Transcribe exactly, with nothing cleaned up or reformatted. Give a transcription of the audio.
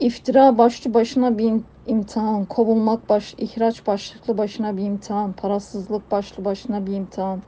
İftira başlı başına bir im- imtihan, kovulmak baş, ihraç başlıklı başına bir imtihan, parasızlık başlı başına bir imtihan.